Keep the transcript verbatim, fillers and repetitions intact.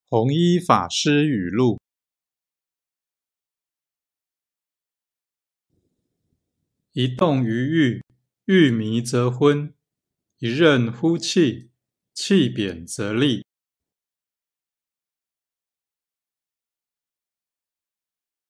弘一法师语录：一动于欲，欲迷则昏；一任乎气，气贬则厉。